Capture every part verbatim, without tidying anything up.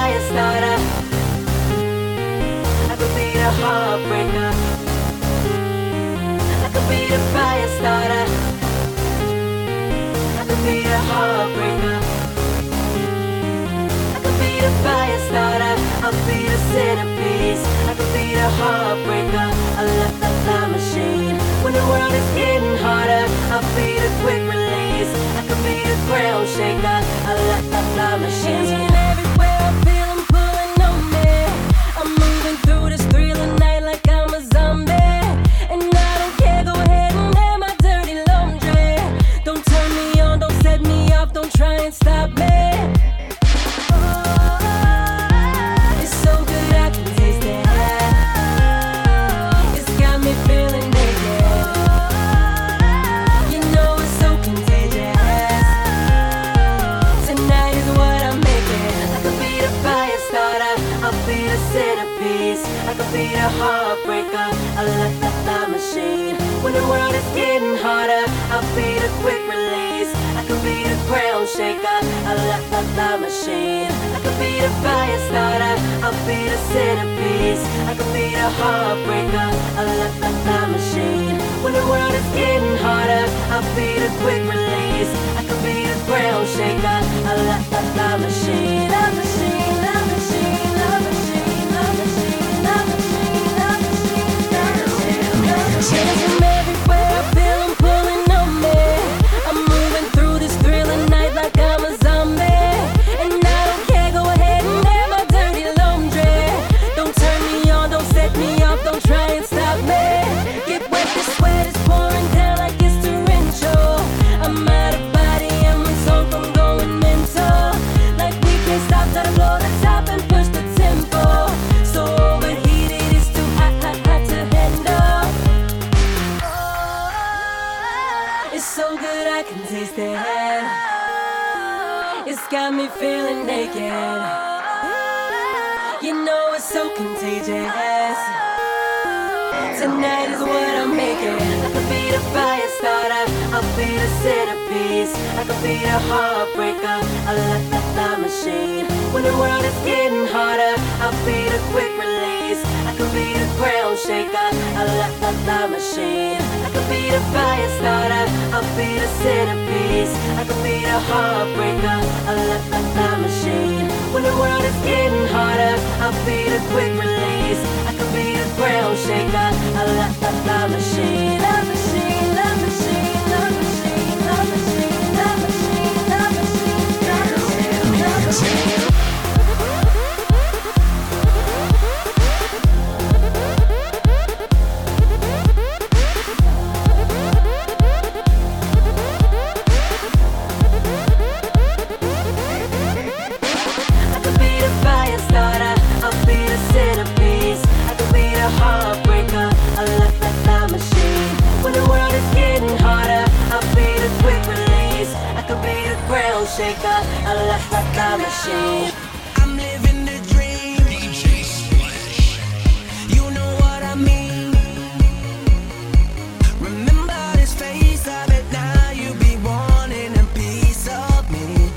fire starter. I could be the heartbreaker. I could be the fire starter. I could be the heartbreaker. I could be the fire starter. I'll be the centerpiece. I could be the heartbreaker. I left the fly machine. When the world is getting harder, I'll be the quick release. I could be the ground shaker. I left the fly machine. Everywhere I feel I'm pulling on me. I'm moving through this thriller night like I'm a zombie. And I don't care, go ahead and air my dirty laundry. Don't turn me on, don't set me off, don't try and stop me. I could be the heartbreaker. I left the fly machine. When the world is getting harder, I'll be the quick release. I could be the ground shaker. I left the fly machine. I could be the fire starter. I'll be the centerpiece. I could be the heartbreaker. I left the fly machine. When the world is getting harder, I'll be the quick release. I could be the ground shaker. I left the fly machine. Love machine, love machine, love machine, love machine. Chasing everywhere I feel I'm pulling on me. I'm moving through this thrilling night like I'm a zombie. And I don't care, go ahead and air my dirty laundry. Don't turn me on, don't set me off, don't try and stop me. Get wet, the sweat is pouring down like it's torrential. I'm out of body and my soul from going mental. Like we can't stop, gotta blow the top and push the tempo. So overheated, it's too hot, hot, hot to handle. It's so good I can taste it. It's got me feeling naked. You know it's so contagious. Tonight is what I'm making. I could be the fire starter. I'll be the centerpiece. I could be the heartbreaker. I left the fly machine. When the world is getting harder, I'll be the quick release. I could be the ground shaker. I left the fly machine. I could be the fire starter. I'll be the centerpiece. I could be the heartbreaker. I left the fly machine. When the world is getting harder, I'll be the quick release. I could be the ground shaker. I left the fly machine. Love machine, love machine, love machine, love machine, love machine, love machine, love machine, love machine. Shaker, I left my time machine. I'm living the dream. D J Splash. You know what I mean. Remember this face of it now. You be wanting a piece of me.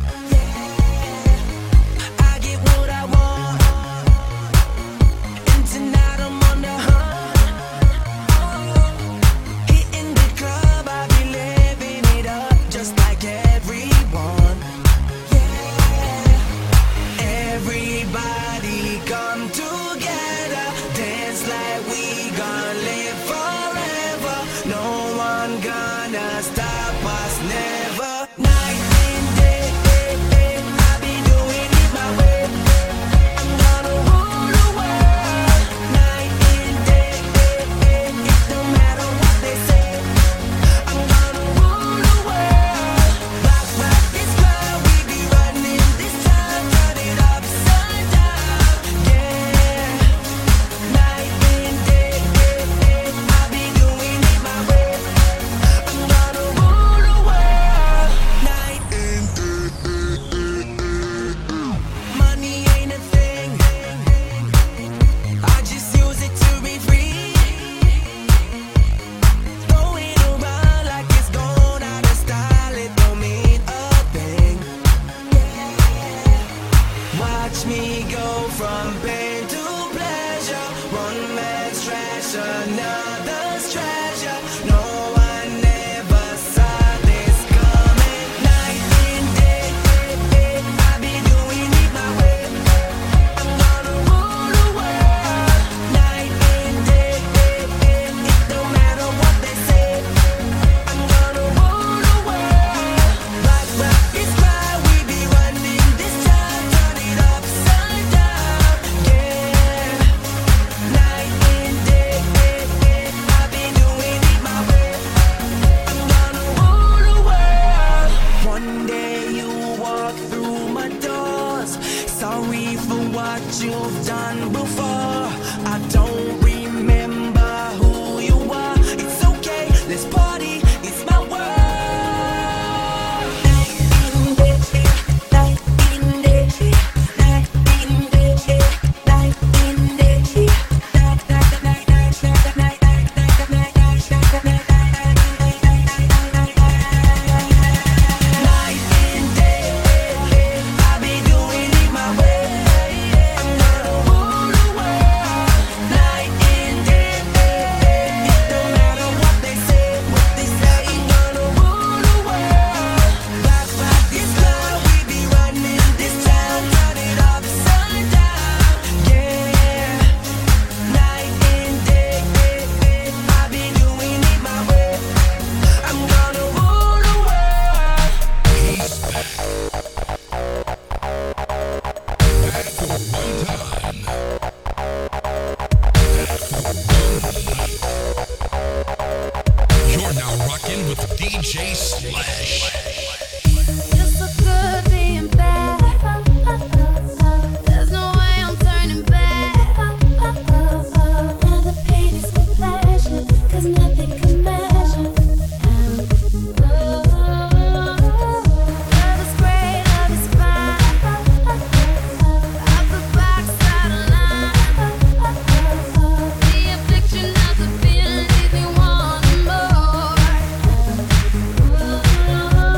Yeah. I get what I want. And tonight I'm on the hunt. Hitting the club, I be living it up just like everyone. Everybody come together, dance like we gon' live forever. No one gonna stop us, never. Night and day, I be doing it my way. I'm gonna rule the world. Night and day, it don't matter what they say. I'm gonna rule the world. Rock, rock this world, we be running this time, turn it upside down, yeah. Night and day, I be doing it my way. I'm gonna rule The affliction of the feeling leaves me wanting more.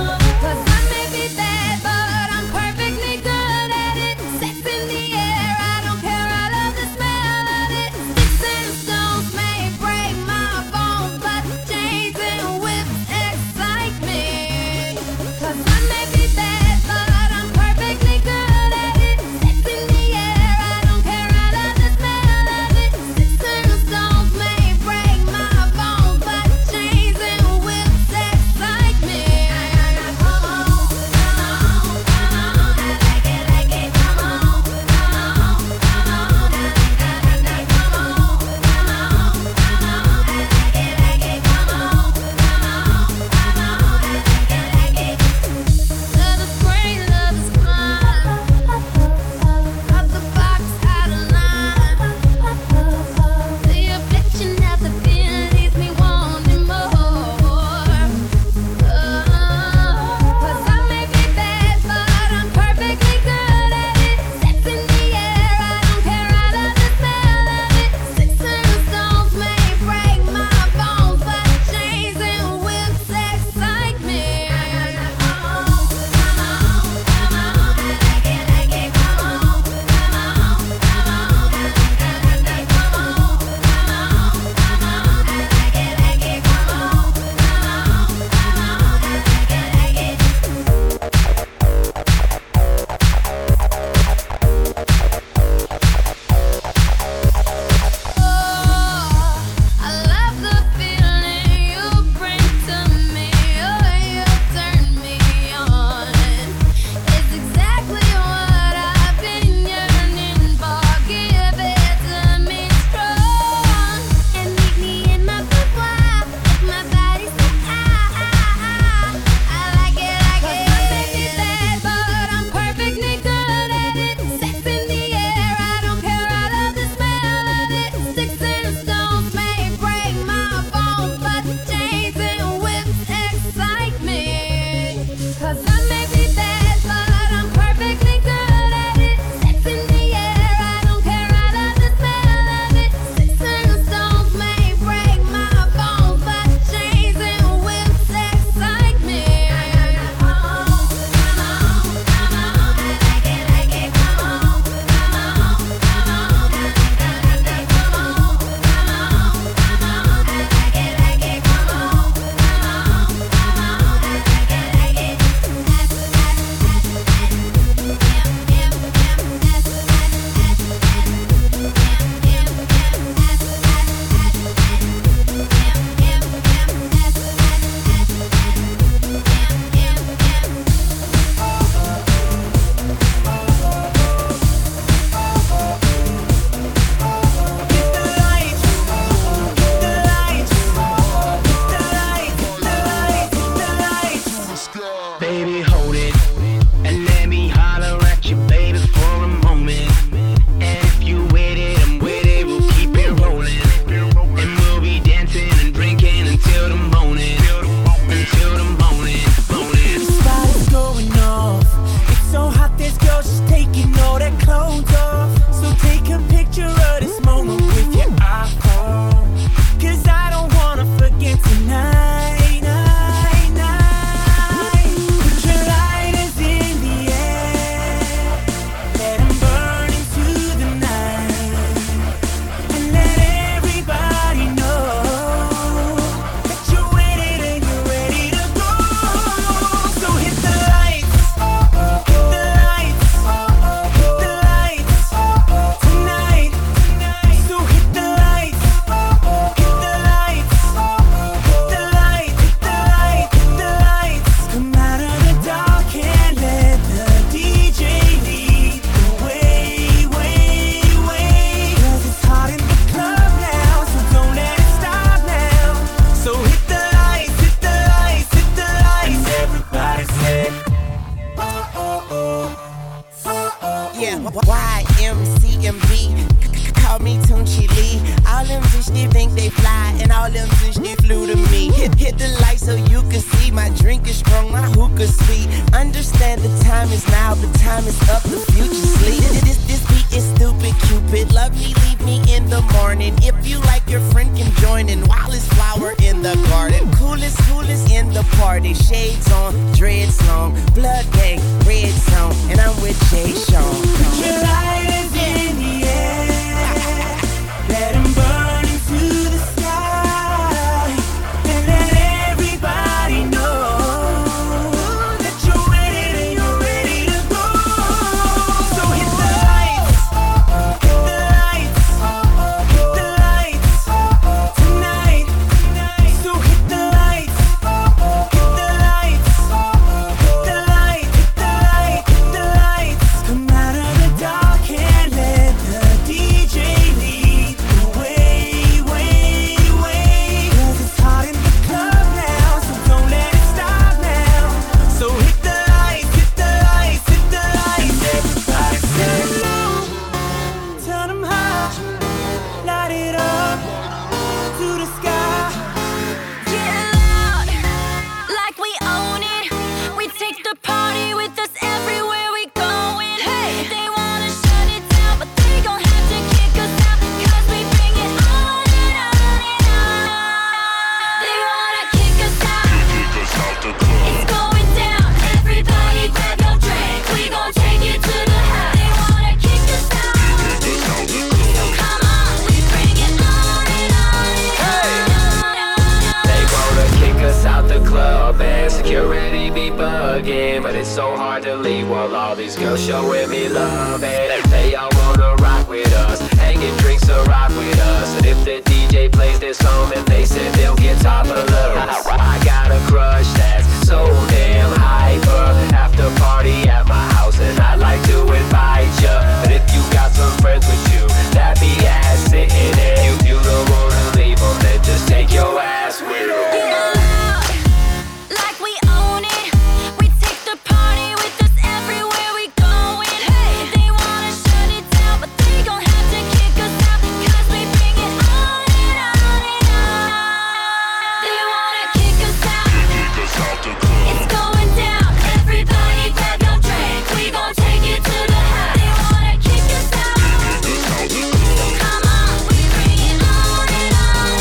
she, she flew to me. Hit, hit the light so you can see. My drink is strong, my hookah sweet. Understand the time is now, the time is up, the future sleep. This, this beat is stupid, Cupid. Love me, leave me in the morning. If you like, your friend can join in. While it's flower in the garden. Coolest, coolest in the party. Shades on, dreads long, blood gang, red zone, and I'm with Jay Sean. Your light is in the air. Let 'em burn into the sky. And let everybody know that you're ready and you're ready to go. So hit the lights, hit the lights, hit the lights tonight. So hit the lights, hit the lights, hit the light, hit the light, hit the lights. Come out of the dark and let the D J lead the way, way, way. 'Cause it's hot in the club now, so don't let it stop now. So hit the lights, hit the lights, hit the lights. Everybody say low, turn 'em high, light it up to the sky. Get loud, like we own it. We take the party with us everywhere we going. Hey, they wanna shut it down, but they gon' have to kick us out. 'Cause we bring it on and on and on. They wanna kick us out. It's going down. Everybody grab your drink. We gon' take it to the high. They wanna kick us out. So come on, we bring it on and on and on. They wanna kick us out the club and security be bugging, but it's so hard to leave while all these girls showing me love. And they all wanna rock with us, hanging drinks to rock with us. And if the D J plays this song, then they said they'll get top of love. I got a crush that's so damn hyper. After party at my house, and I'd like to invite ya. But if you got some friends with you, that be ass sitting there. You, you don't wanna leave them, then just take your ass with them. Get loud, like we own it. We take the party with us everywhere we going. Hey, they wanna shut it down, but they gon' have to kick us out. 'Cause we bring it on and on and on. They wanna kick us out. It's going down. Everybody grab your drink. We gon' take it to the high. They wanna kick us out. So come on, we bring it on and on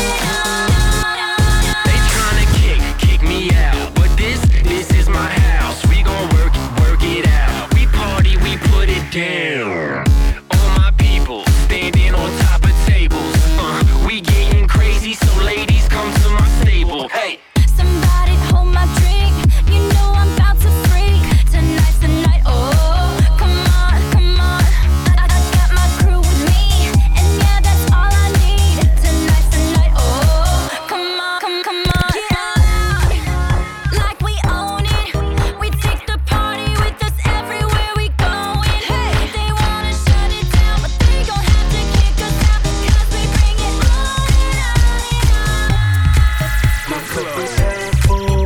and on. They tryna kick, kick me out, but this, this is my house. We gon' work, work it out. We party, we put it down. All my people standing on top of tables. Uh, we getting crazy, so ladies come to my stable. Hey. Somebody hold my drink. You know I'm about to freak. Tonight's the night. Oh, come on, come on. I, I got my crew with me, and yeah, that's all I need. Tonight's the night. Oh, come on, come, come on. Get loud, like we own it. We take the party with us everywhere we going. Hey, they wanna shut it down, but they gon' have to kick us out. 'Cause we bring it on and on and on. My cup is half full.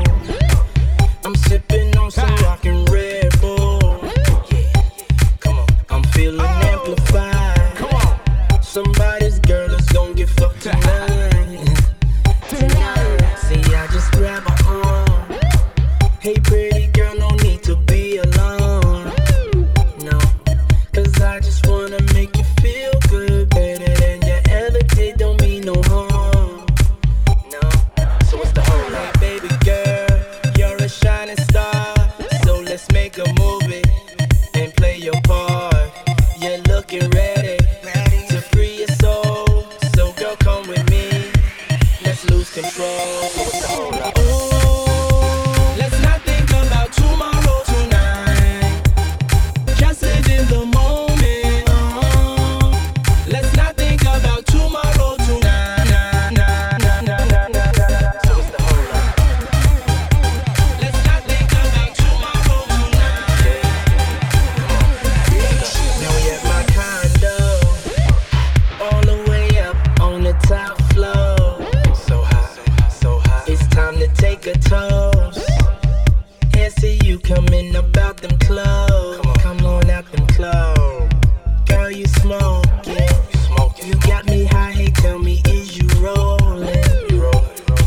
I'm sipping on some rockin' Red Bull. Yeah, come on. I'm feeling amplified. Come on. Somebody's girl is gon' get fucked tonight. Tonight. See, I just grab her arm. Hey, pretty girl, no need to be alone. No, 'cause I just wanna make you feel good. Better than you ever did, don't mean no harm. No, so what's the whole lot? Baby girl, you're a shining star. So let's make a movie and play your part. You're looking ready to free your soul. So girl, come with me. Let's lose control. So what's the whole lot? Ooh, let's not think about tomorrow tonight. Just live in the moment. Uh-huh. Let's not think about tomorrow tonight. Nah, nah, nah, nah, nah, nah, nah. So what's the whole lot? Let's not think about tomorrow tonight. Now we at my condo, all the way up on the top floor. So hot, so hot. It's time to take a toast. And see you coming up out them clothes. Come on out them clothes. Girl, you smoking. You got me high, hey, tell me, is you rolling?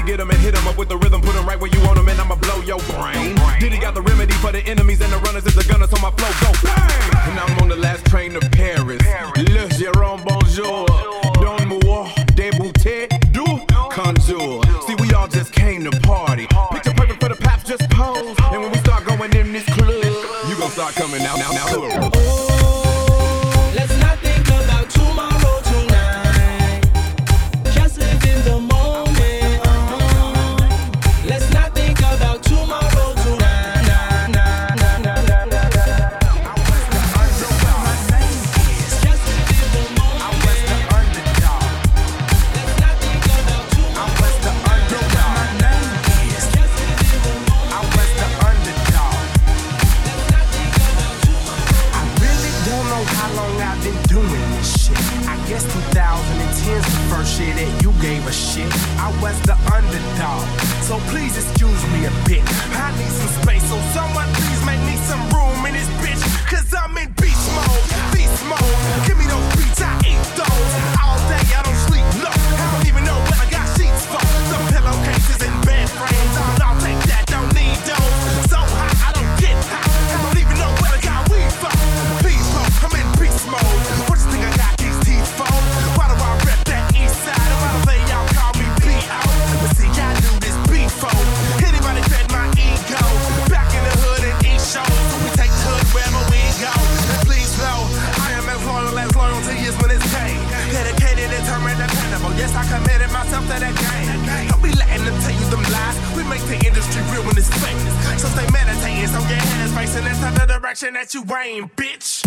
get him and hit him up with the rhythm, put him right where you want him, and I'ma blow your brain. Diddy got the remedy for the enemies and the runners is the gunners, so my flow go bang. And I'm on the last train to Paris. Le Jérôme, bonjour. Donne-moi des bouteilles du conjour. See, we all just came to party. Picture perfect for the paps, just pose. And when we start going in this club, you gon' start coming out, now, now, now. Oh, let's not think about tomorrow tonight. Just live in the moment. Uh, let's not think about tomorrow tonight. Nah, nah, nah, nah, nah, nah, nah. I was the underdog. My name is. Just live in the moment. I was the underdog. Let's not think about tomorrow. I was the underdog. My name is. Just live in the moment. I was the underdog. Let's not think about tomorrow. I really don't know how long I've been doing this shit. I guess twenty ten's the first year that you gave a shit. I was the underdog, so please excuse me a bit. I need some space, so someone please make me some room in this bitch. Cause I'm in beast mode, beast mode. Give me those beats, I eat those. All day I don't sleep, no. I don't even know what I got sheets for. Some pillowcases and bed frames. I'll, I'll take that, don't need those. So hot, I don't get hot. I don't even know what I got weed for. Please, mode, I'm in beast mode. What you think I got these teeth for? Why do I rep that east side? Why do they all call me B O? But see, I do this before. Anybody fed my ego? Back in the hood and east shows. So we take the hood wherever we go. And please know, I am as loyal as loyalty is when it's paid. Dedicated, determined, dependable. Yes, I committed myself to that game. Don't be letting them tell you them lies. We make the industry real when it's fake. So stay meditating, so your head is facing into the direction that you aim, bitch.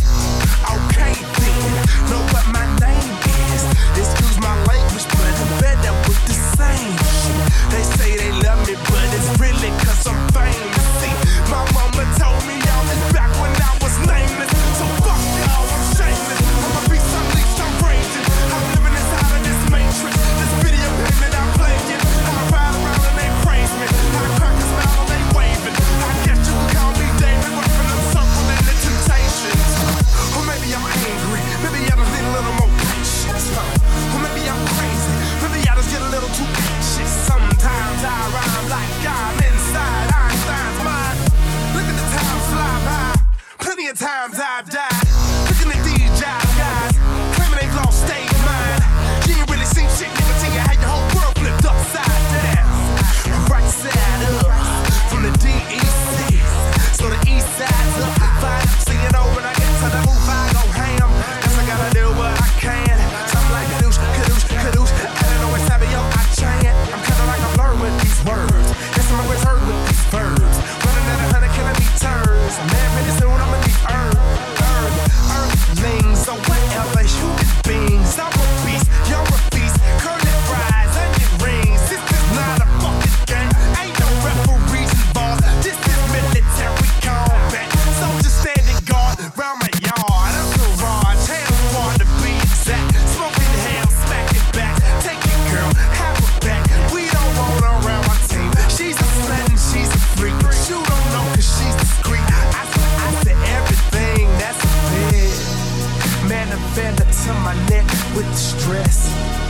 Okay then, know what my name is. Excuse my language, but I'm better with the same shit. They say they love me, but it's really cause I'm famous. See, my mama told me all this back when I was nameless. So fuck y'all, I'm shameless. I'ma be unleashed, I'm raging. I'm living inside of this matrix. This video game that I'm playing. I ride around and they praise me. I crack a smile and they waving. I guess you can call me David, working them circle in the temptations. Or maybe I'm angry, maybe I just need a little more patience. Or maybe I'm crazy, maybe I just get a little too anxious. Sometimes I rhyme like I'm inside Einstein's mind. Look at the time fly by, plenty of times I've died. Looking at these job guys, claiming they've lost state mind. You ain't really seen shit, nigga, till you had your whole world flipped upside down. Right side up, from the D E C, so the east side's up. Fine, see you know when I get to the move, I go ham. Guess I gotta do what I can. Something like kadoosh, kadoosh, kadoosh. I don't know where Savio I chant. I'm kinda like a blur with these words. Guess I'm always heard with these verbs. Running at a hundred kilometers. Man, pretty soon I'ma be earth, earth, earthlings. So whatever, human beings. I'm a beast, you're a beast. Curly fries, onion rings. This is not a fucking game. Ain't no referees involved. This is military combat. Soldiers standing guard round my yard. I'm the garage, hand squad to be exact. Smoking ham, smacking back. Take it, girl, have her back. We don't want her around my team. She's a slut and she's a freak. You don't know cause she's discreet. I said, I said everything, that's a bit. Man, a feather to my neck with the stress.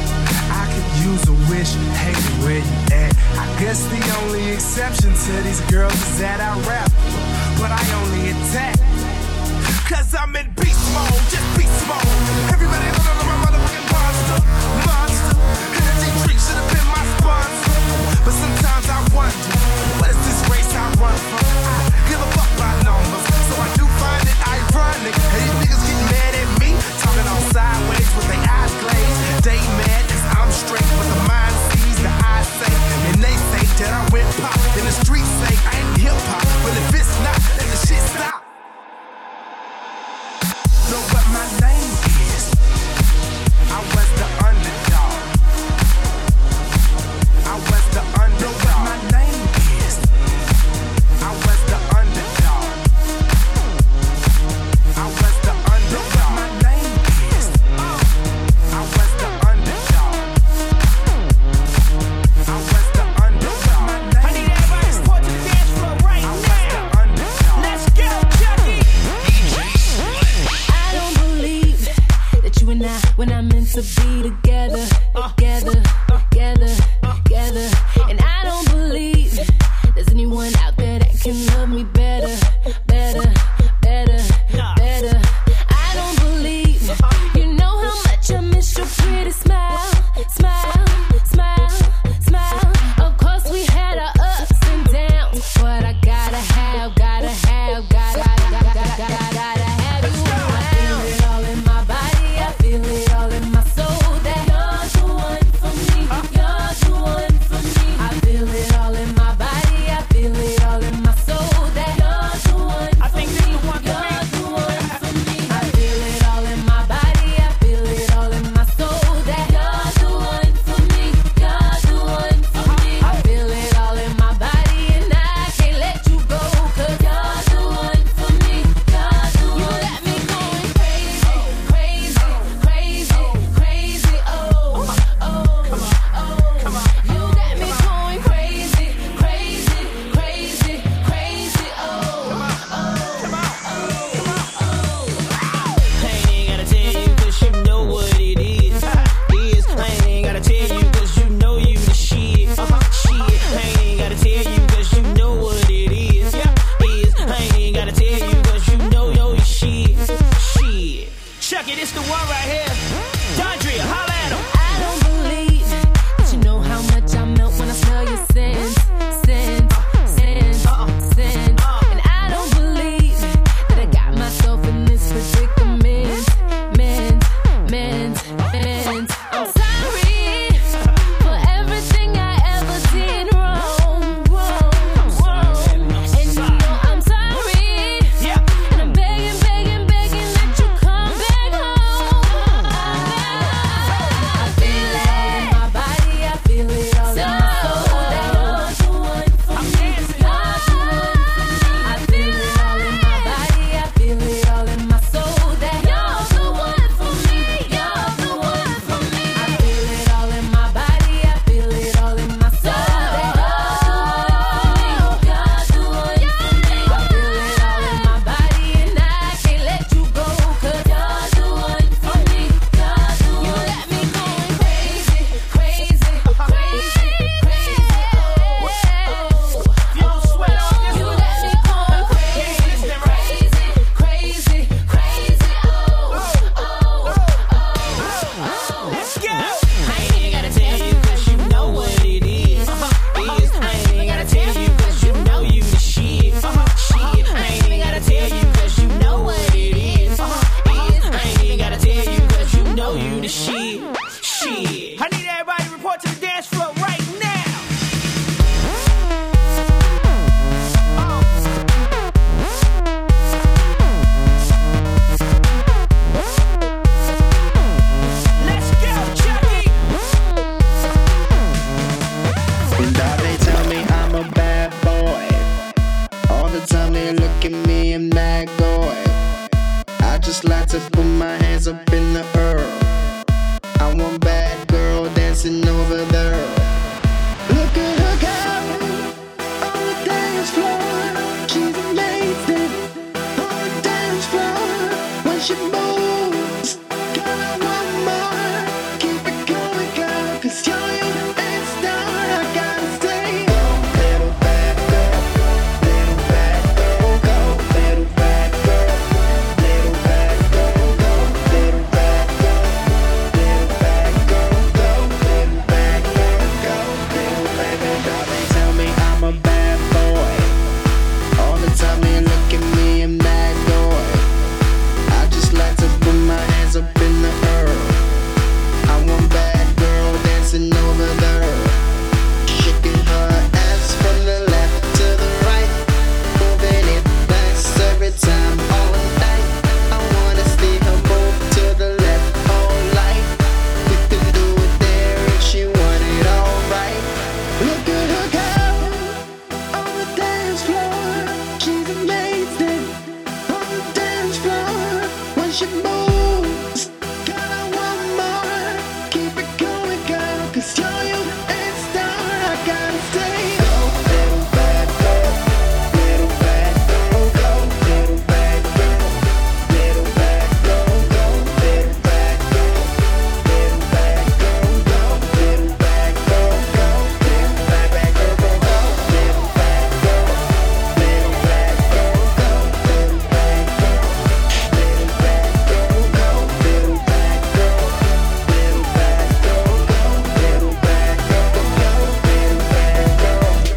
I could use a wish, hey, where you at? I guess the only exception to these girls is that I rap, but I only attack. Cause I'm in beast mode, just beast mode. Everybody know that I'm a motherfucking monster, monster. Energy drink should have been my sponsor. But sometimes I wonder, what is this race I run from? I give a fuck by numbers, so I do find it ironic. And these niggas get mad at me, talking all sideways with their eyes glazed. They mad as I'm straight, but the mind sees the eyes say. And they say that I went pop, and the streets say I ain't hip hop. Well, if it's not, then the shit stop. Know what my name is. I was the underdog. Now they tell me I'm a bad boy. All the time they look at me and mad boy. I just like to put my hands up in the air. I want bad girl dancing over there. Look at her go on the dance floor. She's amazing on the dance floor. When she moves, girl, I want more. Keep it going, girl, 'cause you're your best star. I gotta stay. Go, little bad girl, little bad girl, go, little bad girl, little bad girl, go, little bad girl, little bad girl, go, little bad girl, go, little baby girl. They tell me I'm a bad boy. All the time they look at me and mad boy. I just like to put my hands up in the air. I want bad girl dancing over there, shaking her ass from the left to the right, moving it fast every time all night. I wanna see her move to the left all night. We can do it there if she want it all right. Look at her go on the dance floor. She's amazing on the dance floor. When she moves, girl, I want more. Keep it going, girl, 'cause you're your best star. I gotta stay. Go, little bad girl, little bad girl, go, little bad girl, little bad girl, go, little bad girl, little bad girl, go, little bad girl, go, little bad bad girl, go, go, little bad girl, little bad girl, go, little bad girl, little bad girl, go, little bad girl, little bad girl, go, little bad girl, go, little bad girl.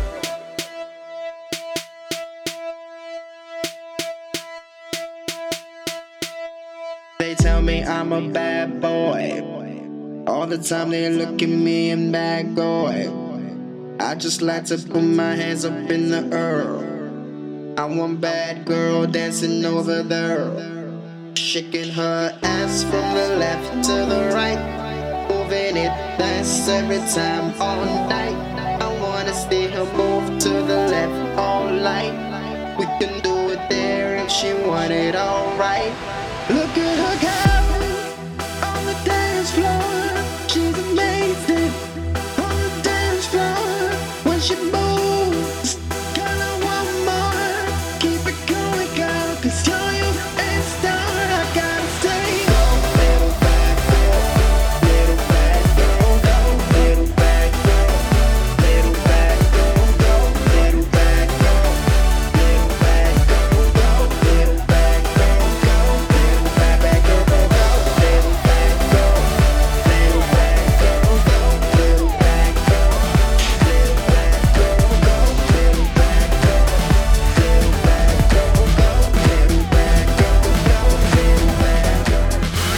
They tell me I'm a bad boy. All the time they look at me and bad boy. I just like to put my hands up in the air. I want bad girl dancing over there, shaking her ass from the left to the right, moving it fast every time all night. I wanna see her move to the left all night. We can do it there if she want it all right. Look at her go on the dance floor. She's amazing on the dance floor. When she moves, girl, I want more. Keep it going, girl, 'cause you're your best star. I gotta stay. Go, little bad girl, little bad girl, go, little bad girl, little bad girl, go, little bad girl, little bad girl, go, little bad girl, go, little bad bad girl, go, go, little bad girl, little bad girl, go, little bad girl, little bad girl, go, little bad girl, little bad girl, go, little bad girl, go, little bad girl.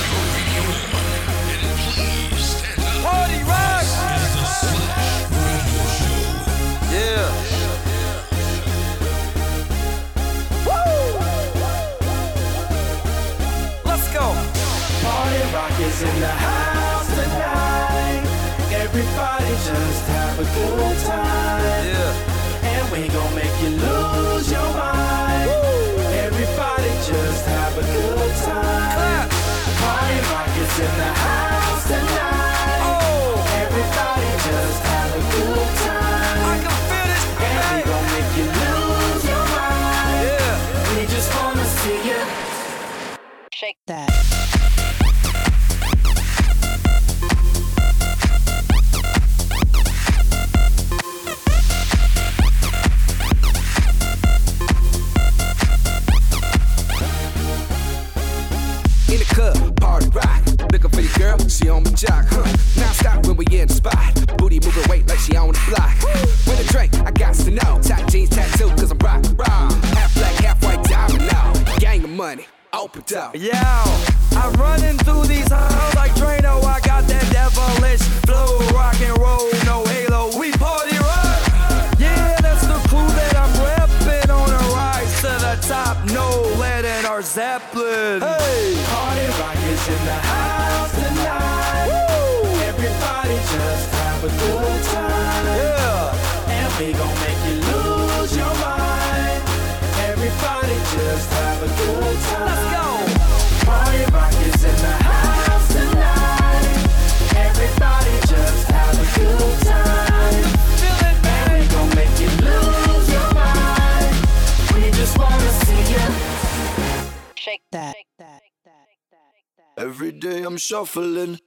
Party rock! Yeah. Woo! Let's go. Party rock is in the house tonight. Everybody just have a good time. Yeah. And we gon' make you lose your mind. Everybody just have a good time. Clap. Party rock is in the house tonight. Oh, Everybody just have a good I time. can feel this. And we gon' make you lose your mind. Yeah. We just wanna see you. Shake that. In the club, party rock. Looking for your girl, she on my jock, huh? Now stop when we in the spot. Booty moving weight like she on the block. With a drink, I got to know. Tight jeans tattoo, cause I'm rock, rock. Half black, half white diamond now. Gang of money, open up. Yo, I'm running through these halls like Drano. I got that devilish flow, rock and roll, no halo. We party rock. Yeah, that's the crew that I'm repping on a rise to the top. No lead in our Zeppelin. Hey, Party rock is in the house tonight. woo, Everybody just have a good time. yeah. we gon' make you lose your mind. Everybody just have a good time. Let's go. Party rock is in the house tonight. Everybody just have a good time. Feel it, man. We gon' make you lose your mind. We just wanna see you shake that. Every day I'm shuffling.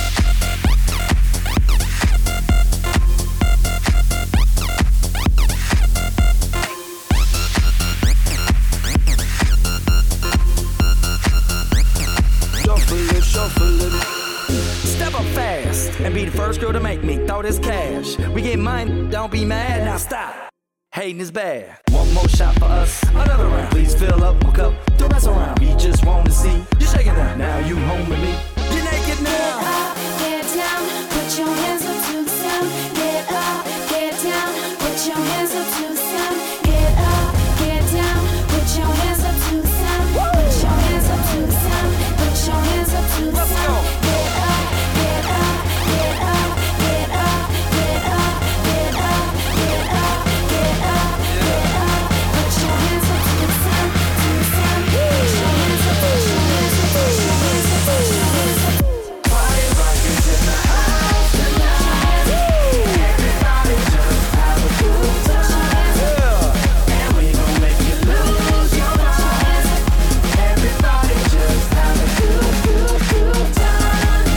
Shuffling, shuffling. Step up fast and be the first girl to make me throw this cash. We get mine, don't be mad, now stop. Hating is bad. One more shot for us, another round. Please fill up my cup, don't mess around. We just wanna see you shaking down. Now you home with me. You're naked now. Get up, get down, put your hands up to the sound. Get up, get down, put your hands up to the sound. Get up, get down, put your hands up to the sound. Put your hands up to the sound. Put your hands up to the sound. Get up, get up, get up, get up, get up, get up, get up, get up, get up. Put your hands up to the sound, to the sound. Put your hands up, put your hands up, put your hands up, put your hands up. Party rock is in the house tonight. Everybody just have a good time. And we gon' make you lose your mind. Everybody just have a good, good, good time.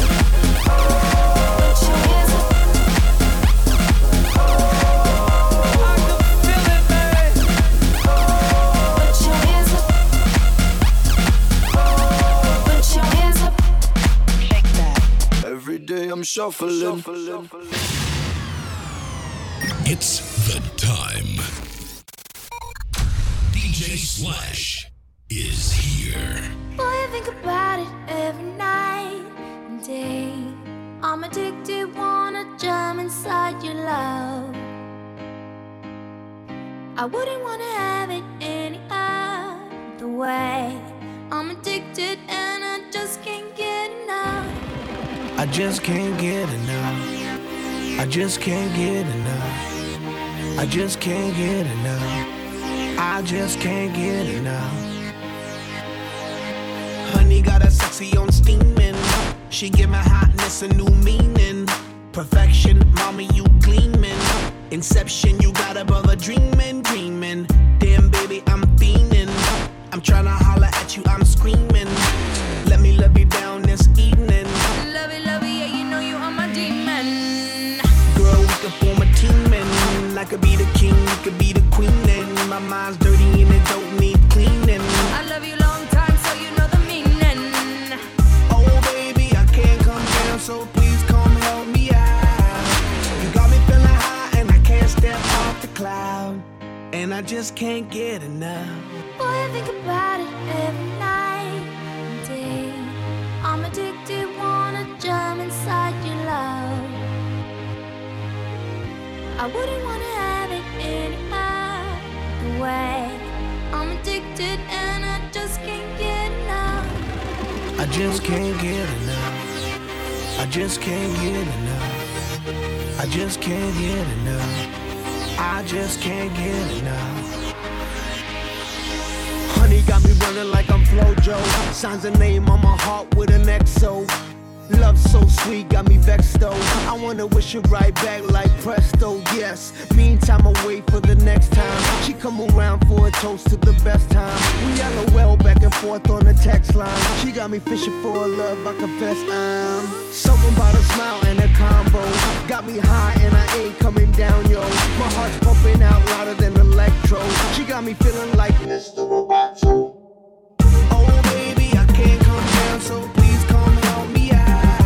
Put your hands up. I can feel it, man. Put your hands up. Put your hands up. Shake that. Every day I'm shuffling. It's the time. D J Slash is here. Boy, I think about it every night and day. I'm addicted, wanna jump inside your love. I wouldn't wanna have it any other way. I'm addicted and I just can't get enough. I just can't get enough. I just can't get enough. I just can't get enough. I just can't get enough. Honey got a sexy on steaming. She give my hotness a new meaning. Perfection, mommy, you gleaming. Inception, you got a brother dreaming, dreaming. Damn, baby, I'm fiending. I'm tryna holler at you, I'm screaming. Let me love you down this evening. Love it, love it, yeah, you know you are my demon. Girl, we could form a team and I could be the king, you could be the queen. And my mind's dirty and it don't need cleaning. I love you long time, so you know the meaning. Oh baby, I can't come down, so please come help me out. You got me feeling high and I can't step off the cloud. And I just can't get enough. Boy, I think about it every night and day. I'm addicted, wanna jump inside your love. I wouldn't wanna have it any other way. I'm addicted and I just can't get enough. I just can't get enough. I just can't get enough. I just can't get enough. I just can't get enough. Honey got me running like I'm Flojo. Signs a name on my heart with an X O. Love so sweet, got me vexed though. I wanna wish it right back like presto, yes. Meantime, I wait for the next time. She come around for a toast to the best time. We LOL back and forth on the text line. She got me fishing for a love, I confess I'm something about a smile and a combo. Got me high and I ain't coming down, yo. My heart's pumping out louder than electro. She got me feeling like Mister Roboto. Oh baby, I can't come down, so please come help me out.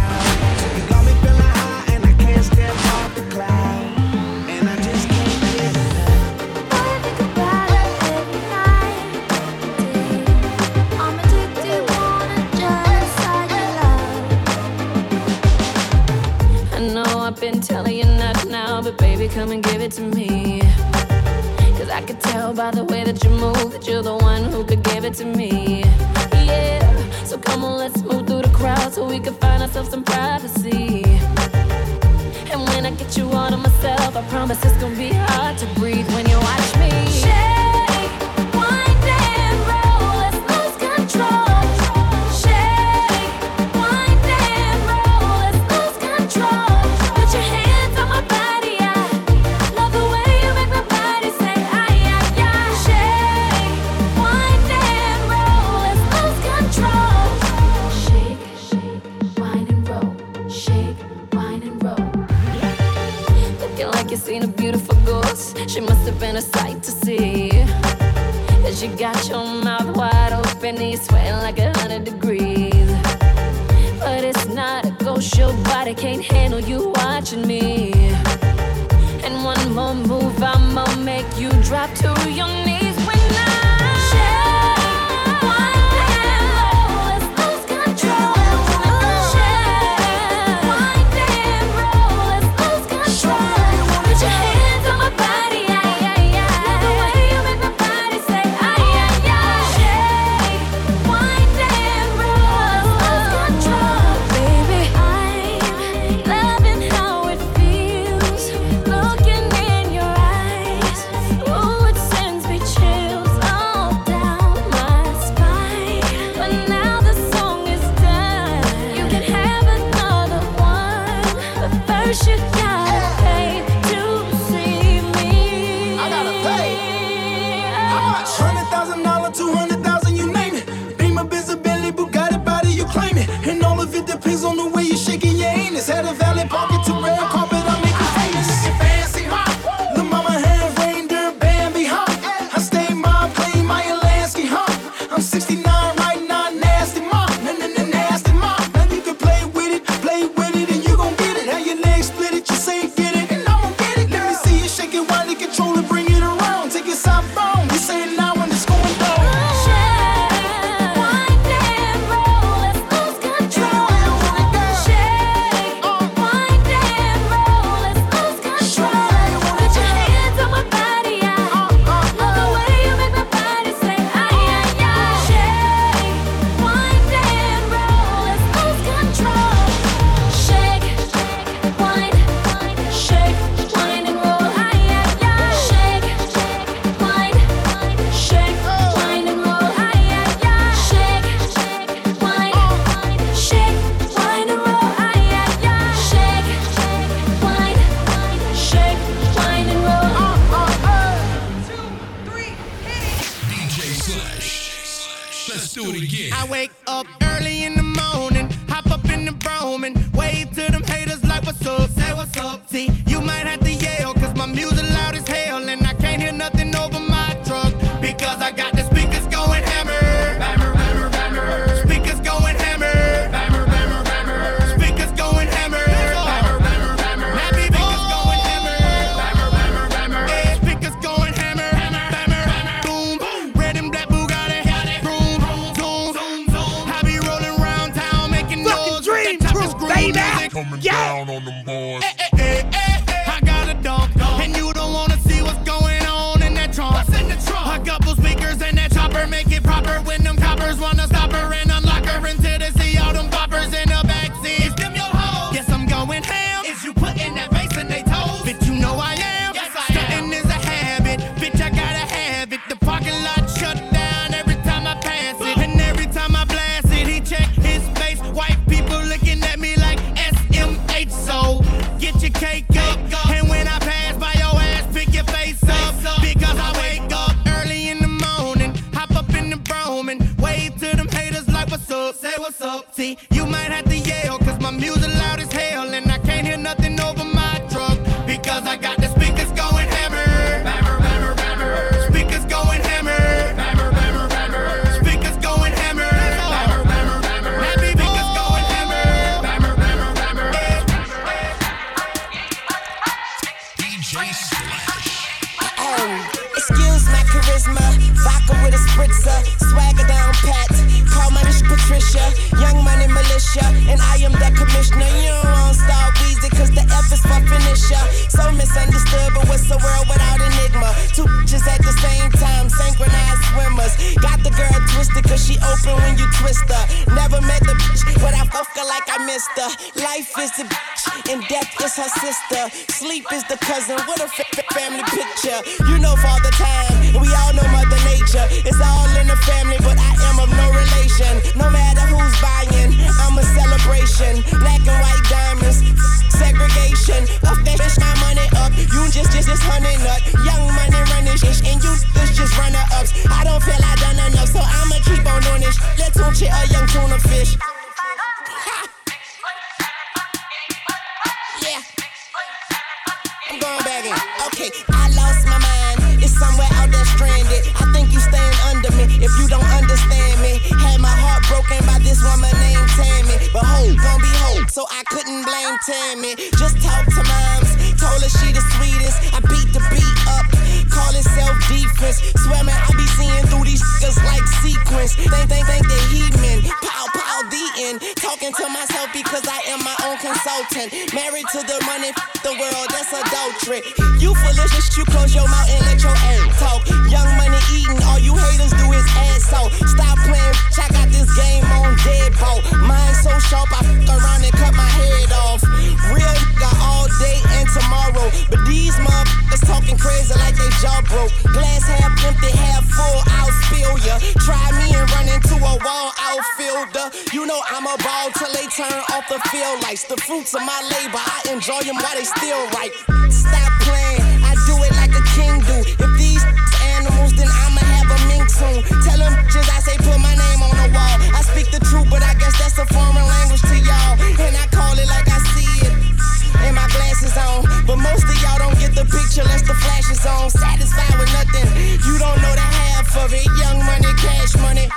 I've been telling you not now, but baby, come and give it to me. Cause I could tell by the way that you move that you're the one who could give it to me. Yeah, so come on, let's move through the crowd so we can find ourselves some privacy. And when I get you all to myself, I promise it's gonna be hard to breathe when you watch me. Shake, wind and roll, let's lose control. Shake, wind and roll, let's lose control. Put your hands on my body, I love the way you make my body say ay, ay, ay. Shake, wind and roll, let's lose control. Shake, shake, wind and roll. Shake, wind and roll. Looking like you seen a beautiful ghost. She must have been a sight to see. As you got your mouth wide open and you're sweating like a hundred degrees. But it's not a ghost, your body can't handle you watching me. And one more move, I'ma make you drop to your knees when I shake, wind and roll, let's lose control. Shake, wind and roll, let's lose control. Put your hands on my body, ay, ay, ay. Love the way you make my body say ay, ay, ay. Shake, wind and roll, let's lose control. Baby, I'm loving how it feels, looking in your eyes. Ooh, it sends me chills all down my spine. But now the song is done, you can have another one. But first you gotta pay to see me. I gotta pay. Hundred thousand dollar, two hundred thousand, you name it. Beamer, Bentley, Bugatti, body, you claim it. And all of it depends on the way you shaking your anus. Had a valet parking to red carpet, I make you famous. Fancy, huh? The mama have reindeer, Bambi, huh? I stay my plane, my Alaska, huh? I'm sixty-nine right now, nasty mom, n n n nasty mom. Now you can play with it, play with it, and you gon' get it. How your legs split it, you say get it, and I'm gon' get it. Let me see you shake it, wind it, control it, bring it around. Take it southbound, you say it now when it's going down. Shake, wind and roll, let's lose control. Shake, wind and roll, let's lose control. Put your hands on my body, I love the way you make my body say ay, ay, ay. Shake, wind and roll, let's lose control. Shake, wind, shake, wind and roll, ay, ay, ay. Shake, wind, shake, wind and roll, ay, ay, ay. Shake, wind, shake, wind and roll, ay, ay, ay. Shake, wind, shake, wind and roll. D J Slash. Let's do it again. I wake up early in the morning, hop up in the Brougham and wave to them haters like what's up, say what's up. See, you might have to yell, cause my music loud as hell and I can't hear nothing over my truck, because I got the speakers going hammer. Hammer, hammer, hammer. Speakers going hammer. Hammer, hammer, hammer. Speakers going hammer. Hammer, hammer, hammer. Happy speakers going hammer. Hammer, hammer, hammer. Yeah, speakers going hammer. Hammer, hammer, hammer. Boom, red and black Bugatti. Vroom, zoom, zoom, zoom. I be rolling around town making noise. Dream crew, baby. Coming down on them boys. Eh, eh, eh, eh, eh. I got a dog, and you don't wanna see what's going on in that trunk. What's in the trunk? A couple speakers in that chopper, make it proper when them coppers wanna stop her and unlock her until they see all them boppers in the backseat. Is them your hoes? Yes, I'm going ham. Is you putting that bass in they toes? Bitch, you know I am. Yes, I Stunting am. Is a habit, bitch, I gotta have it. The parking lot shut down every time I pass it, and every time I blast it, he check his face. White people looking at me like S M H, so get your cake up. And when I pass by your ass, pick your face up, because I wake up early in the morning, hop up in the Brougham and wave to them haters like what's up, say what's up. See, you might have to yell, cause my music loud as hell and I can't hear nothing over my truck, because I got the speakers going hammer. Hammer, hammer, hammer. Speakers going hammer. Hammer, hammer, hammer. Speakers going hammer. Hammer, hammer, hammer. Happy speakers going hammer. Hammer, hammer, hammer. D J Slash. Oh, excuse my charisma, vodka with a spritzer, swagger down pat. Call my Miss Patricia, young money militia, and I am the commissioner. You don't want Star Weezy, cause the F is for finisher. So misunderstood, but what's the world without enigma? Two bitches at the same time, synchronized swimmers. Got the girl twisted, cause she open when you twist her. Never met the bitch, but I fuck her like I missed her. Life is the bitch, and death is her sister. Sleep is the cousin. What a fa- fa- family picture. You know Father Time, we all know Mother Nature. It's all in the family, but I am of no relation. No matter who's buying, I'm a celebration. Black and white diamonds, segregation. Off that bitch, my money up. You just, just, just honey nut. Young money running shit, and you this just runner ups. I don't feel I done enough, so I'ma keep on doing this. Let's tune shit a young tuna fish. Yeah. I'm going back in. Okay, I lost my mind. It's somewhere out there stranded. I think you staying under me if you don't understand me. Had my heart broken by this woman named Tammy. But hope gon' be hope, so I couldn't blame Tammy. Just talk to moms, told her she the sweetest. I beat the beat up, call it self-defense. Swear man, I be seeing through these niggas like sequence. Think, think, think they heathen. Pow, pow, the end. Talking to myself because I am my own consultant. Married to the money, the world, that's adultery. You foolish, you close your mouth and let your ass talk. Young money eating, all you haters do is ass off. Stop playing, I got this game on deadbolt. Mine so sharp, I f*** around and cut my head off. Real nigga all day and tomorrow. But these motherfuckers talking crazy like they jaw broke. Glass half empty, half full, I'll spill ya. Try me and run into a wall outfielder. You know I'm a ball till they turn off the field lights. The fruits of my labor, I enjoy them while they still ripe. Stop playing, I do it like a king do. If these animals, then I'ma have a mink soon. Tell them bitches I say put my name on the wall. I speak the truth, but I guess that's a foreign language to y'all. And I call it like I see it. And my glasses on. But most of y'all don't get the picture unless the flash is on. Satisfied with nothing, you don't know the half of it. Young money, cash money.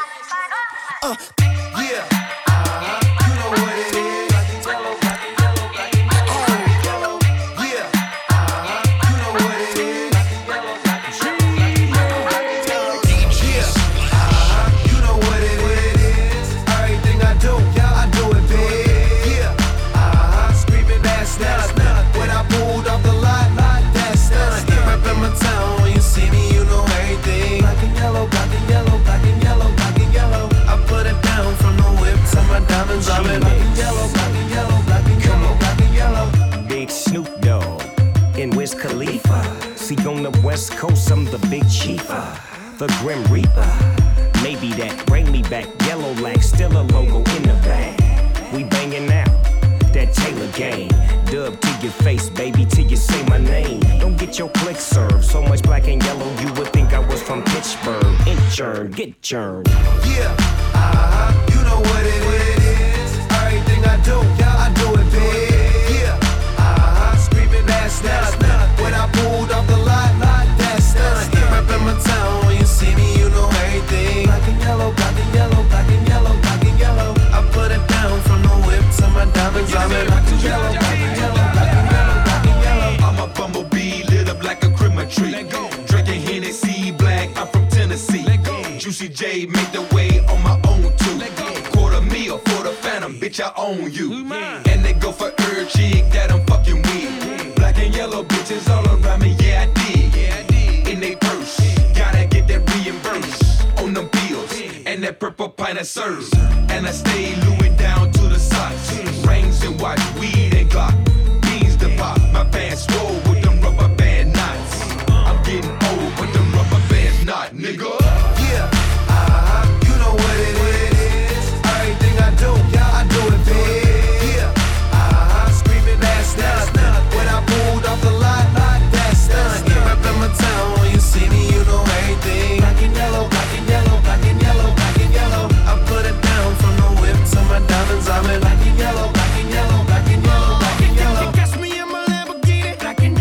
Uh, yeah. Uh-huh. You know what it is. Black and yellow, black and yellow, black and yellow. Oh. Yeah. Uh-huh. You know what it is. Black and yellow, black and yellow, black and yellow. Yeah. Uh-huh. You know what it is. Everything I do, yeah, I do it big. Yeah. Uh-huh. Screaming that's not when I pulled off the lot, that's done. Reppin' my town, when you see me, you know everything. Black and yellow, black and yellow, black and yellow, black and yellow. I put it down from the whip to my diamonds. I'm in black and yellow, black and yellow, black and yellow, black and yellow. Big Snoop Dogg and Wiz Khalifa. See on the West Coast, I'm the big chiefa, the Grim Reaper. Maybe that bring me back. Yellow Lack, still a logo in the bag. We banging out that Taylor game. Dub to your face, baby, till you say my name. Don't get your click served. So much black and yellow, you would think I was from Pittsburgh. Inchurn, get churned. Yeah, uh-huh, you know what it is. Everything I do, yeah, I do it big. Yeah, uh-huh, screaming that's not when I pulled off the lot, that's done. Reppin' my town, when you see me, you know everything. Black and yellow, black and yellow, black and yellow, black and yellow. I put it down from the whip to my diamonds. I'm in black and yellow, black and yellow, black and yellow, black and yellow. I'm a bumblebee, lit up like a Christmas tree. Drinking Hennessy, black, I'm from Tennessee. Juicy J make the way on my own too. Quarter meal for the phantom, bitch, I own you. And they go for every chick that I'm fucking with. Black and yellow bitches all around me, yeah I did. In they purse, gotta get that reimbursed on them bills. And that purple pint of serves. And I stay Louis down to the socks. Rings and watch, weed and Glock. Beans to pop, my pants swole with them rubber band knots. I'm getting old, but them rubber bands not, nigga. Yeah, uh-huh, you know what it is. Everything I do, yeah, I do it big. Yeah, uh-huh, screaming that's not when I pulled off the lot, that's done. Reppin' my town, when you see me, you know everything. Black and yellow, black and yellow, black and yellow, black and yellow. I put it down from the whip to my diamonds. I'm in black and yellow, black and yellow, black and yellow, black and yellow. You catch me in my Lamborghini, black and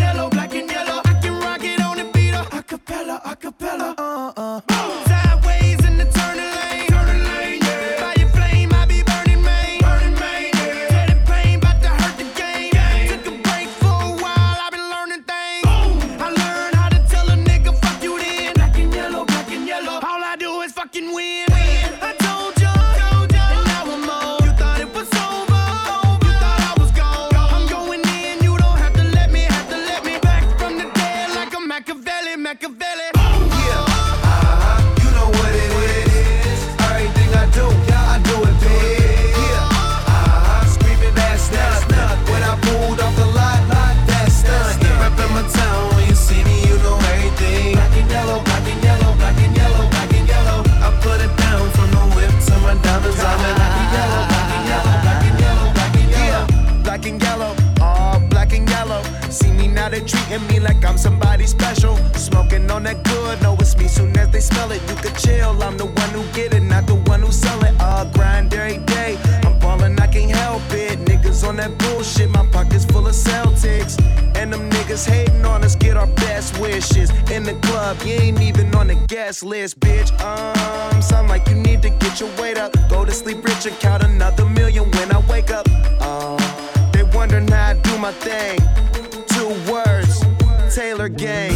like I'm somebody special. Smoking on that good, know it's me soon as they smell it. You could chill, I'm the one who get it, not the one who sell it. Uh, grind every day, I'm ballin', I can't help it. Niggas on that bullshit, my pockets full of Celtics. And them niggas hating on us, get our best wishes. In the club, you ain't even on the guest list, bitch. Um, sound like you need to get your weight up. Go to sleep rich and count another million when I wake up. Uh, they wondering how I do my thing. Two words, Taylor Gang,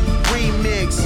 remix,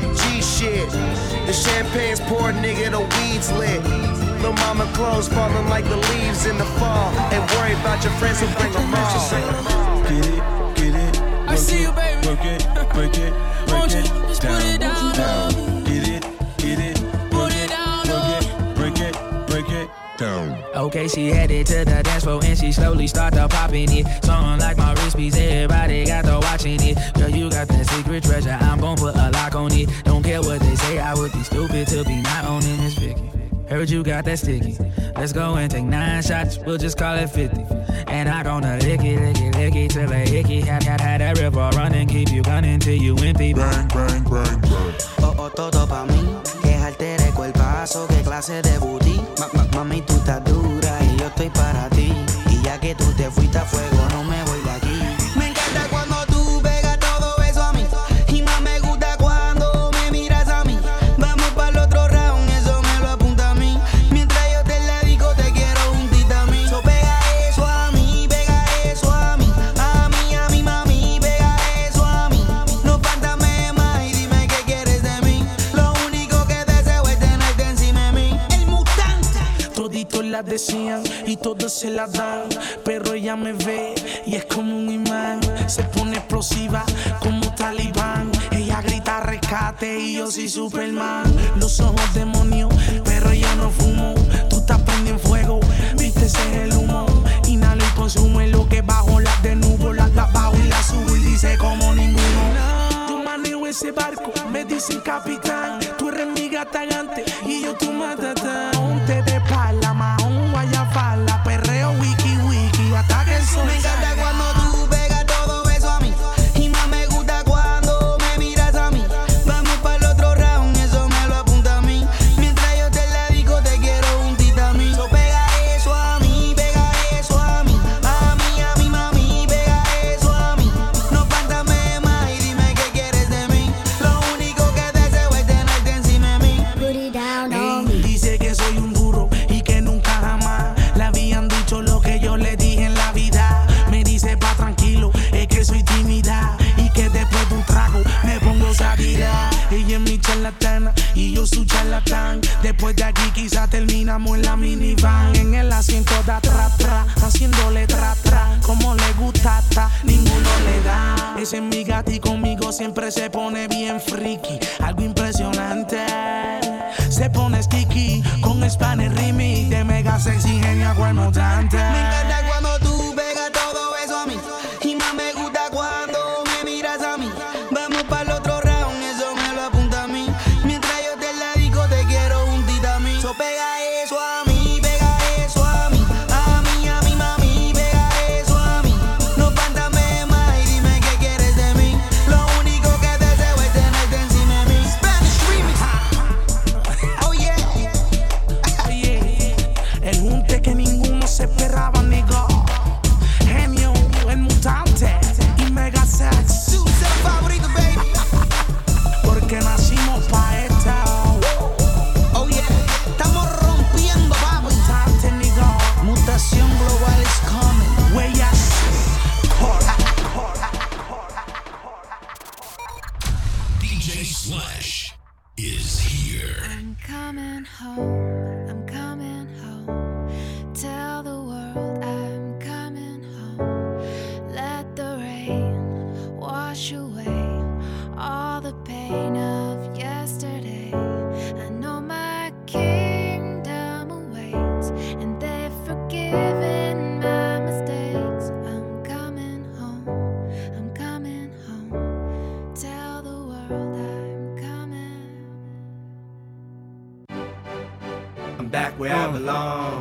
G shit. The champagne's poured, nigga, the weed's lit. Lil' mama clothes falling like the leaves in the fall. Ain't worry about your friends who bring them all. Get it, get it. I see you, baby. Work it, break it, break it, just down, put it down, down. Get it, get it, put it down, work it, break it, break it, down. Okay, she headed to the dance floor and she slowly started popping it. Song like my wrist piece, everybody got to watching it. Girl, you got that secret treasure, I'm gon' put a lock on it. Don't care what they say, I would be stupid to be not owning this Vicky. Heard you got that sticky. Let's go and take nine shots, we'll just call it fifty. And I gonna lick it, lick it, lick it till I hickey. Had, had, had that river running, keep you gunning till you empty. Bang, bang, bang, bang. Oh, oh, todo pa' mí, que altere el cuerpazo, que clase de booty. Ma, ma, mami, tú estás dura y yo estoy para ti. Y ya que tú te fuiste a fuego, no me voy de aquí. Me encanta cuando tú pegas todo eso a mí. Y más me gusta cuando me miras a mí. Vamos para el otro round, eso me lo apunta a mí. Mientras yo te la digo, te quiero juntita a mí. So pega eso a mí, pega eso a mí. A mí, a mí, mami, pega eso a mí. No fántame más y dime qué quieres de mí. Lo único que deseo es tenerte encima de mí. El mutante. Toditos la decían y todos se la dan. Pero ella me ve y es como un imán. Se pone explosiva como talibán. Ella grita rescate y yo soy Superman. Los ojos demonios, pero yo no fumo. Tú estás prendiendo en fuego, viste ese es el humo. Inhalo y consumo en lo que bajo las de nubo. Las la bajo y las subo y dice como ninguno. Yo manejo ese barco, me dicen capitán. Tú eres mi gata gigante y yo tu matatán. Ponte de pala, mahón, vaya fala. Perreo, wiki, wiki, hasta que el sol Me encanta salga. cuando tú pegas todo eso a mí. Y más me gusta cuando me miras a mí. Vamos para el otro round, eso me lo apunta a mí. Mientras yo te la digo, te quiero juntita a mí. So pega eso a mí, pega eso a mí. A mí, a mí, mami, pega eso a mí. No fántame más y dime qué quieres de mí. Lo único que deseo es tenerte encima de mí. Put it down on me. Dice que soy un duro y que nunca jamás le habían dicho lo que yo le dije en la vida. Me dice pa' tranquilo, es que soy tímida y que después de un trago me pongo sabida. Ella es mi charlatana y yo su charlatán. Después de aquí quizás terminamos en la minivan. En el asiento de atrás, atrás, haciéndole tra, tra. Como le gusta, hasta ninguno le da. Ese es mi gato y conmigo siempre se pone bien friki. Algo impresionante. Se pone sticky con Spanish remix de mega sexy genia mutante. Me encanta cuando tú pegas todo eso a mí. Y más me gusta cuando me miras a mí. Vamos para el otro round, eso me lo apunta a mí. Mientras yo te la digo, te quiero juntita a mí. So pega eso a mí, pega eso a mí. A mí, a mí, mami, pega eso a mí. No fántame más y dime qué quieres de mí. Lo único que deseo es tenerte encima de mí. Spanish remix. Oh yeah. Oye, el junte que ninguno se esperaba, nigga. Genio, el mutante y mega sex. Su ser favorito, baby. Porque nacimos pa' esta. Oh yeah, estamos rompiendo, papi. Mutante, nigga. Mutación global is coming. Huellas. D J Slash is here. I'm coming home, I'm coming home. Tell the world I'm coming home. Let the rain wash away all the pain of yesterday. I know my kingdom awaits, and they've forgiven my mistakes. I'm coming home, I'm coming home. Tell the world I'm coming. I'm back where I belong.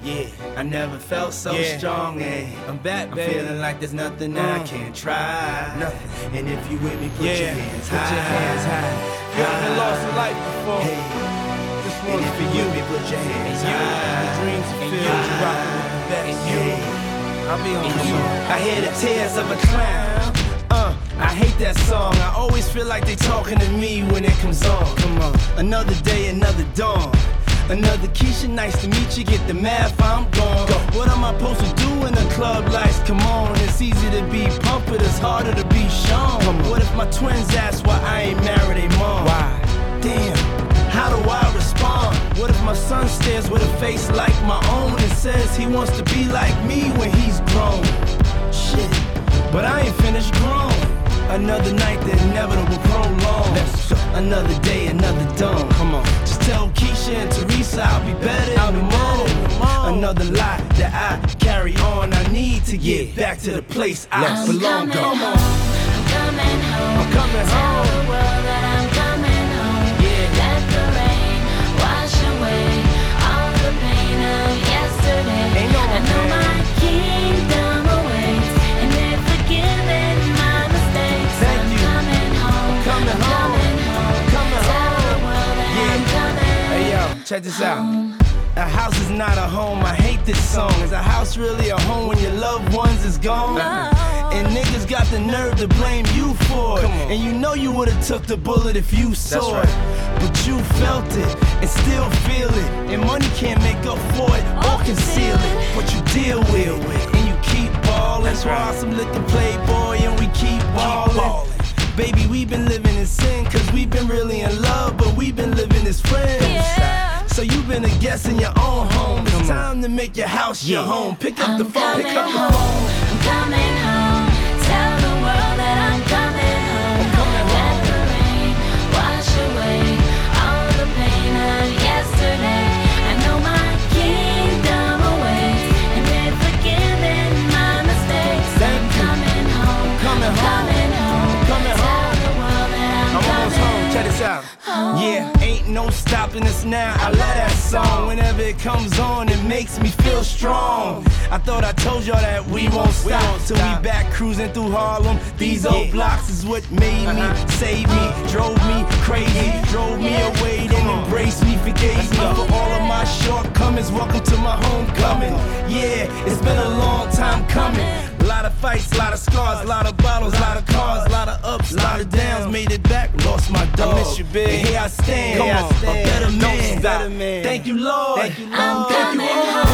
Yeah, I never felt so Yeah. strong, eh? I'm back, I'm baby. feeling like there's nothing that I Mm. can't try. Nothing. And if you with me, put Yeah, your hands put high. your hands high. You haven't lost a life before. Hey. This And one's if for you you. with me, put your hands And you, high. the dreams And fulfilled, you, you rockin' with the best. And you. I'll be on And the you. song. I hear the tears of a clown. Uh, I hate that song. I always feel like they talking to me when it comes on. Come on. Another day, another dawn. Another Keisha, nice to meet you. Get the math, I'm gone. Go. What am I supposed to do in the club lights? Come on, it's easy to be pumped, but it's harder to be shown. Come on. What if my twins ask why I ain't married a mom? Why? Damn, how do I respond? What if my son stares with a face like my own and says he wants to be like me when he's grown? Shit, but I ain't finished grown. Another night, the inevitable prolong. Another day, another dawn. Come on. Just tell Keisha and Teresa I'll be better in the morning. Another lie that I carry on. I need to get back to the place I belong. Come on. I'm coming home. I'm coming Tell home. the world that I'm coming home. Yeah. Let the rain wash away all the pain of yesterday. Ain't no I know pain. my kingdom awaits, and they're forgiving my mistakes. Thank I'm you. coming home. Coming I'm home. coming home. Coming Tell home. the world that I'm coming. Hey yo, check this out. A house is not a home, I hate this song. Is a house really a home when your loved ones is gone? And niggas got the nerve to blame you for it. And you know you would've took the bullet if you saw right. it. But you felt it and still feel it. And money can't make up for it or conceal it. What you deal with, and you keep ballin'. That's why some liquor playboy and we keep ballin'. Baby, we been living in sin, cause we been really in love, but we been living as friends. Yeah. So you been a guest in your own home. It's time to make your house your home. Pick up the I'm phone, coming pick up the home. phone. I'm coming home. Tell the world that I'm coming home. Let the rain wash away all the pain of yesterday. I know my kingdom awaits, and they're forgiving my mistakes. Thank I'm you. coming home. Coming I'm home. coming home. Coming Tell home. the world that I'm, I'm almost coming home. Check this out. home. Yeah, ain't no stopping us now. I love that song. Whenever it comes on, it makes me feel strong. I thought I told y'all that we won't stop till we back cruising through Harlem. These old blocks is what made me, saved me, drove me crazy, drove me away, then embraced me, forgave me for all of my shortcomings. Welcome to my homecoming. Yeah, it's been a long time coming. A lot of fights, a lot of scars, a lot of bottles, a lot of cars, a lot of ups, a lot of downs. Made it back, lost my dog. I miss you, big. And here I stand, Come on. a better man. Don't stop. Thank you, Lord. Thank you, Lord. I'm Thank you, coming Lord. home.